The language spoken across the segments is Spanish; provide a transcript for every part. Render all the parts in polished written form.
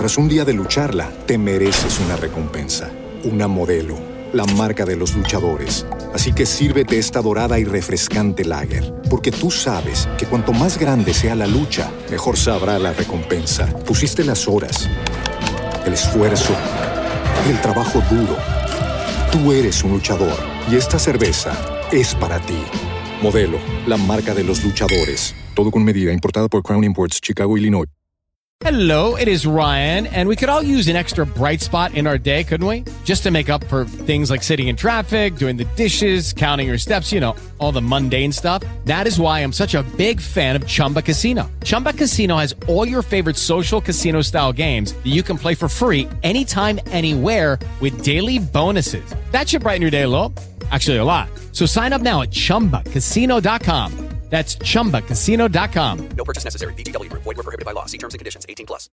Tras un día de lucharla, te mereces una recompensa, una Modelo, la marca de los luchadores. Así que sírvete esta dorada y refrescante lager, porque tú sabes que cuanto más grande sea la lucha, mejor sabrá la recompensa. Pusiste las horas, el esfuerzo, el trabajo duro. Tú eres un luchador y esta cerveza es para ti. Modelo, la marca de los luchadores. Todo con medida, importada por Crown Imports, Chicago, Illinois. Hello, it is Ryan, and we could all use an extra bright spot in our day, couldn't we? Just to make up for things like sitting in traffic, doing the dishes, counting your steps, you know, all the mundane stuff. That is why I'm such a big fan of Chumba Casino. Chumba Casino has all your favorite social casino-style games that you can play for free anytime, anywhere with daily bonuses. That should brighten your day a little. Actually, a lot. So sign up now at ChumbaCasino.com. That's ChumbaCasino.com. No purchase necessary. VGW Group. Void where prohibited by law. See terms and conditions. 18+.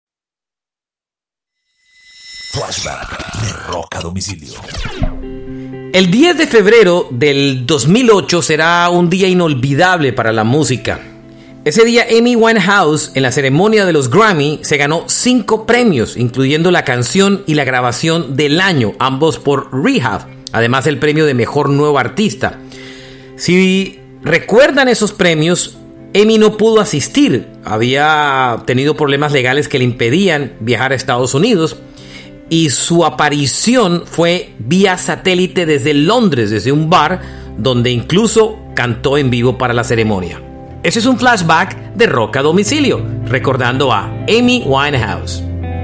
Flashback de Rock a Domicilio. El 10 de febrero del 2008 será un día inolvidable para la música. Ese día Amy Winehouse, en la ceremonia de los Grammy, se ganó 5 premios, incluyendo la canción y la grabación del año, ambos por Rehab, además del premio de Mejor Nuevo Artista. Si recuerdan esos premios, Amy no pudo asistir. Había tenido problemas legales que le impedían viajar a Estados Unidos y su aparición fue vía satélite desde Londres, desde un bar donde incluso cantó en vivo para la ceremonia. Ese es un flashback de Rock a Domicilio, recordando a Amy Winehouse.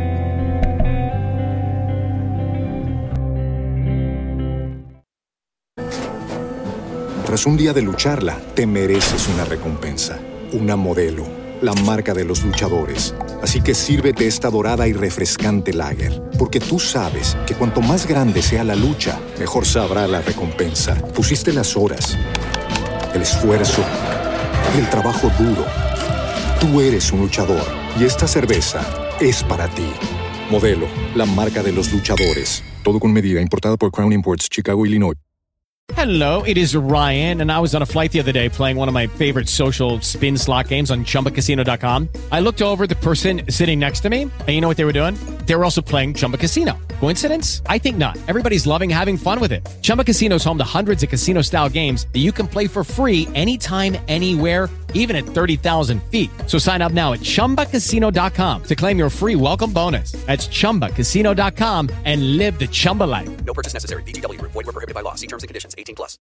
Tras un día de lucharla, te mereces una recompensa, una Modelo, la marca de los luchadores. Así que sírvete esta dorada y refrescante lager, porque tú sabes que cuanto más grande sea la lucha, mejor sabrá la recompensa. Pusiste las horas, el esfuerzo, el trabajo duro. Tú eres un luchador y esta cerveza es para ti. Modelo, la marca de los luchadores. Todo con medida, importada por Crown Imports, Chicago, Illinois. Hello, it is Ryan, and I was on a flight the other day playing one of my favorite social spin slot games on ChumbaCasino.com. I looked over at the person sitting next to me, and you know what they were doing? They were also playing Chumba Casino. Coincidence? I think not. Everybody's loving having fun with it. Chumba Casino is home to hundreds of casino-style games that you can play for free anytime, anywhere, even at 30,000 feet. So sign up now at ChumbaCasino.com to claim your free welcome bonus. That's ChumbaCasino.com and live the Chumba life. No purchase necessary. VGW Group. Void where prohibited by law. See terms and conditions. 18+.